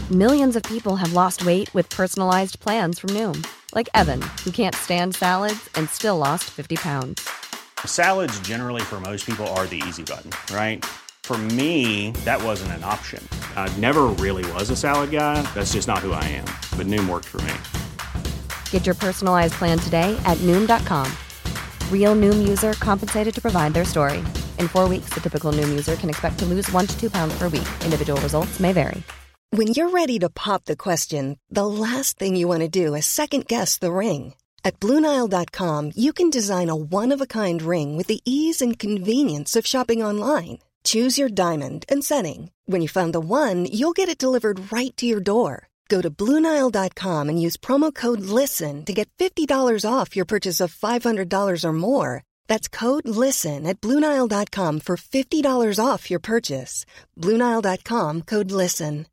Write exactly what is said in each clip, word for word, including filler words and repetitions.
Millions of people have lost weight with personalized plans from Noom. Like Evan, who can't stand salads and still lost fifty pounds. Salads generally for most people are the easy button, right? For me, that wasn't an option. I never really was a salad guy. That's just not who I am. But Noom worked for me. Get your personalized plan today at Noom dot com. Real Noom user compensated to provide their story. In four weeks, the typical Noom user can expect to lose one to two pounds per week. Individual results may vary. When you're ready to pop the question, the last thing you want to do is second-guess the ring. At Blue Nile dot com, you can design a one-of-a-kind ring with the ease and convenience of shopping online. Choose your diamond and setting. When you find the one, you'll get it delivered right to your door. Go to Blue Nile dot com and use promo code LISTEN to get fifty dollars off your purchase of five hundred dollars or more. That's code LISTEN at Blue Nile dot com for fifty dollars off your purchase. Blue Nile dot com, code LISTEN.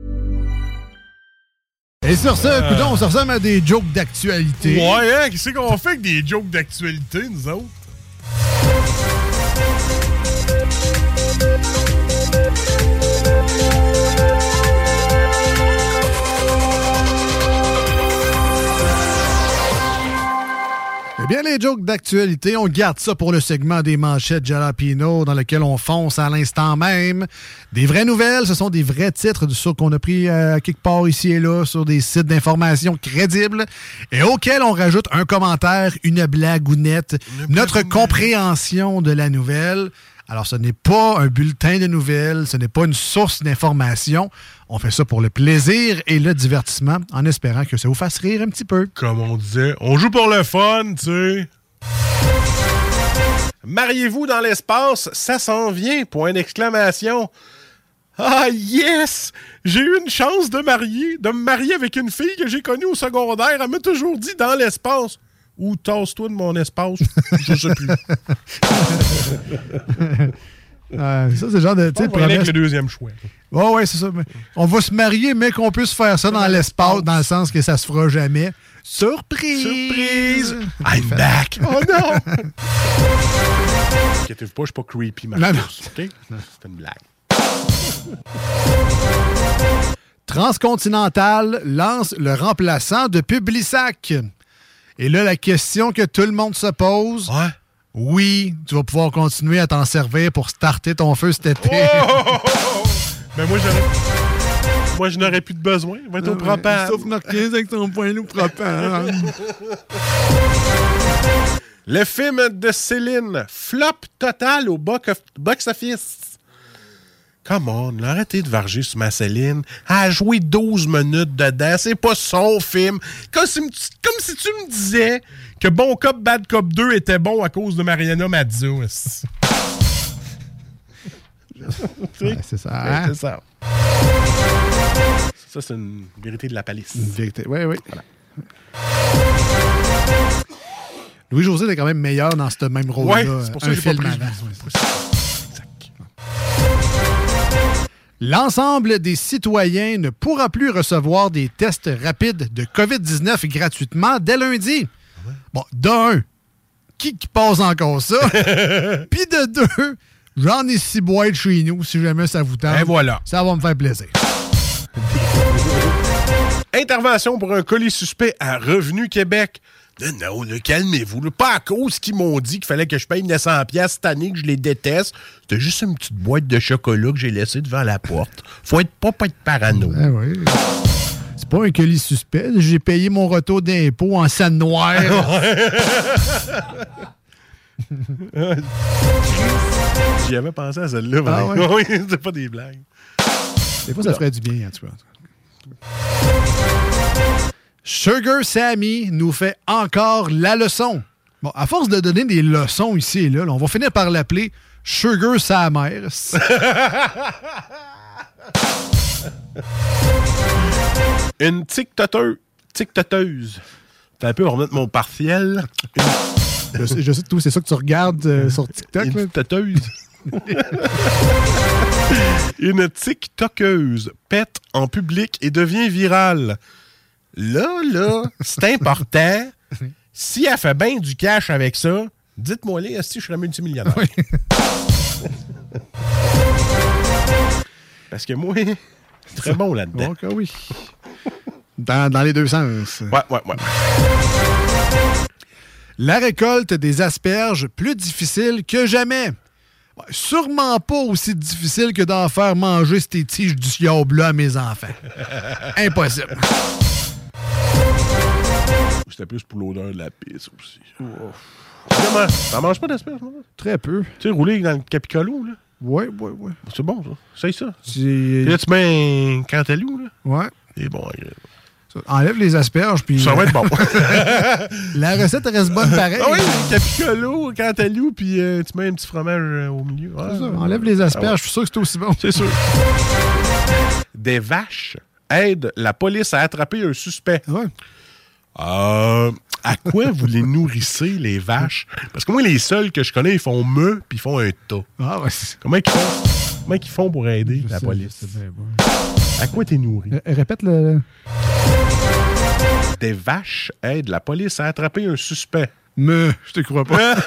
Et sur ce, euh... coudonc, on se ressemble à des jokes d'actualité. Ouais, hein? Qu'est-ce qu'on fait avec des jokes d'actualité, nous autres? Eh bien, les jokes d'actualité, on garde ça pour le segment des manchettes Jalapino dans lequel on fonce à l'instant même. Des vraies nouvelles, ce sont des vrais titres de qu'on a pris euh, quelque part ici et là sur des sites d'information crédibles et auxquels on rajoute un commentaire, une blagounette, une notre blagounette. Compréhension de la nouvelle. Alors, ce n'est pas un bulletin de nouvelles, ce n'est pas une source d'information. On fait ça pour le plaisir et le divertissement, en espérant que ça vous fasse rire un petit peu. Comme on disait, on joue pour le fun, tu sais. Mariez-vous dans l'espace, ça s'en vient, point d'exclamation. Ah yes! J'ai eu une chance de marier, de me marier avec une fille que j'ai connue au secondaire. Elle m'a toujours dit dans l'espace. Ou tasse-toi de mon espace, je sais plus. euh, ça, c'est le genre de. On va aller avec le deuxième choix. Oui, oh, ouais, c'est ça. On va se marier, mais qu'on puisse faire ça dans, dans l'espace, dans le sens que ça se fera jamais. Surprise! Surprise! I'm back! Oh non! Inquiétez-vous pas, je suis pas creepy, ma chose, OK? C'est une blague. Transcontinental lance le remplaçant de Publisac. Et là, la question que tout le monde se pose, ouais. Oui, tu vas pouvoir continuer à t'en servir pour starter ton feu cet été. Oh, oh, oh, oh. Mais moi, j'aurais... moi, je n'aurais plus de besoin. Il va être au propane. Sauf Marquez avec ton point loup propane. Le film de Céline, flop total au box-office. Come on, arrêtez de varger sur ma Céline. Elle a joué douze minutes dedans. C'est pas son film. Comme si, comme si tu me disais que Bon Cop, Bad Cop deux était bon à cause de Mariana Mazza. Ouais, c'est ça. Hein? Ouais, c'est ça. Ça, c'est une vérité de la palisse. Une vérité, oui, oui. Voilà. Louis-José est quand même meilleur dans ce même rôle-là. Ouais, c'est pour ça un que j'ai film pas pris. Avant. L'ensemble des citoyens ne pourra plus recevoir des tests rapides de covid dix-neuf gratuitement dès lundi. Ouais. Bon, d'un, qui, qui passe encore ça? Puis de deux, j'en ai six boîtes chez nous, si jamais ça vous tente. Et voilà. Ça va me faire plaisir. Intervention pour un colis suspect à Revenu Québec. Non, non, calmez-vous. Là. Pas à cause qu'ils m'ont dit qu'il fallait que je paye neuf cents dollars cette année, que je les déteste. C'était juste une petite boîte de chocolat que j'ai laissée devant la porte. Faut être pas, pas être parano. Ben oui. C'est pas un colis suspect. J'ai payé mon retour d'impôt en scène noire. J'y avais pensé à celle-là. Ah ouais? Oui, c'est pas des blagues. Des fois, ça ferait du bien, en tout cas. Sugar Sammy nous fait encore la leçon. Bon, à force de donner des leçons ici et là, là on va finir par l'appeler Sugar sa mère. Une tic-toteuse. Tic-toteuse. T'as un peu, on va remettre mon partiel. Une... Je sais, je sais tout, c'est ça que tu regardes euh, sur TikTok. Une tic-toteuse. Une tic-tokeuse pète en public et devient virale. Là, là, c'est important. Si elle fait bien du cash avec ça, dites-moi là, si je serais multimillionnaire. Oui. Parce que moi, Très bon là-dedans. Donc, oui. Dans, dans les deux sens. Ouais, ouais, ouais. La récolte des asperges, plus difficile que jamais. Ouais, sûrement pas aussi difficile que d'en faire manger ces tiges du diable à mes enfants. Impossible. C'était plus pour l'odeur de la pisse aussi. Oh. Comment? T'en manges pas d'asperges, moi? Très peu. Tu sais, rouler dans le capicolo, là? Ouais, ouais, ouais. C'est bon, ça. C'est ça. C'est... Et là, tu mets un cantalou, là? Ouais. C'est bon, agréable. Enlève les asperges, puis... Ça va être bon. La recette reste bonne pareil. Ah oui, capicolo, cantalou, puis euh, tu mets un petit fromage euh, au milieu. Ouais, c'est ça. Enlève les asperges, ah ouais. Je suis sûr que c'est aussi bon. C'est sûr. Des vaches aident la police à attraper un suspect. Ouais. Euh, à quoi vous les nourrissez, les vaches? Parce que moi, les seuls que je connais, ils font me, puis ils font un tas. Ah ouais. Comment ils font, Comment ils font pour aider je la sais, police? C'est bien bon. À quoi t'es nourri? Euh, répète le... Des vaches aident la police à attraper un suspect. Me, je te crois pas.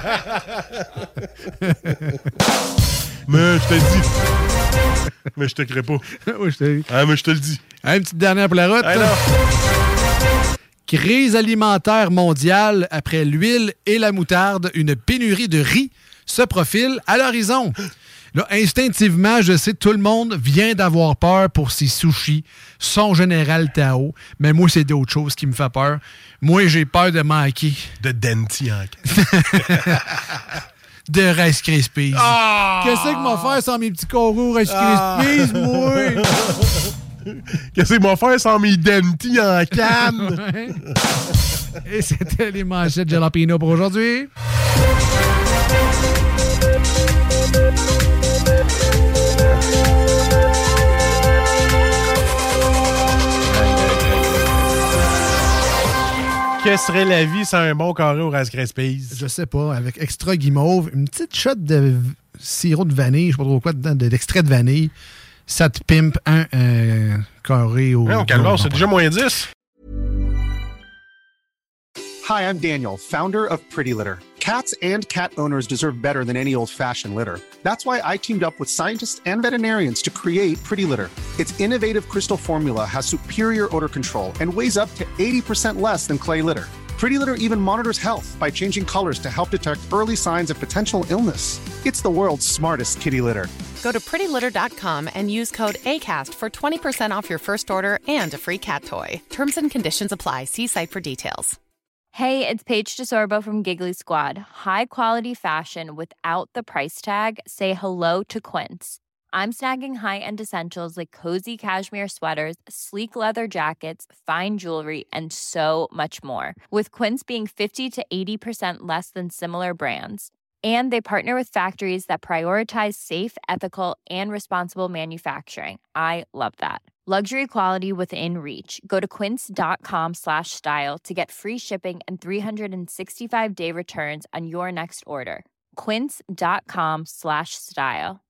Mais je te le dis. Mais je te crée pas. Oui, je te... Ah, mais je te le dis. Une petite dernière pour la route. Alors. Crise alimentaire mondiale après l'huile et la moutarde. Une pénurie de riz se profile à l'horizon. Là, instinctivement, je sais que tout le monde vient d'avoir peur pour ses sushis, son Général Tao, mais moi, c'est d'autres choses qui me fait peur. Moi, j'ai peur de manquer. De Denti en de Rice Krispies. Oh! Qu'est-ce que je vais faire sans mes petits coraux Rice Krispies, oh! moi? Qu'est-ce que je vais faire sans mes Denti en canne? Et c'était les manchettes Jalapeno pour aujourd'hui. Que serait la vie sans un bon carré au Rice Krispies? Je sais pas, avec extra guimauve, une petite shot de sirop de vanille, je sais pas trop quoi dedans, de l'extrait de vanille, ça te pimpe un euh, carré au... Non, calme, c'est déjà moins dix. Hi, I'm Daniel, founder of Pretty Litter. Cats and cat owners deserve better than any old-fashioned litter. That's why I teamed up with scientists and veterinarians to create Pretty Litter. Its innovative crystal formula has superior odor control and weighs up to eighty percent less than clay litter. Pretty Litter even monitors health by changing colors to help detect early signs of potential illness. It's the world's smartest kitty litter. Go to pretty litter dot com and use code ACAST for twenty percent off your first order and a free cat toy. Terms and conditions apply. See site for details. Hey, it's Paige DeSorbo from Giggly Squad. High quality fashion without the price tag. Say hello to Quince. I'm snagging high-end essentials like cozy cashmere sweaters, sleek leather jackets, fine jewelry, and so much more. With Quince being fifty to eighty percent less than similar brands. And they partner with factories that prioritize safe, ethical, and responsible manufacturing. I love that. Luxury quality within reach. Go to quince.com slash style to get free shipping and three sixty-five day returns on your next order. Quince.com slash style.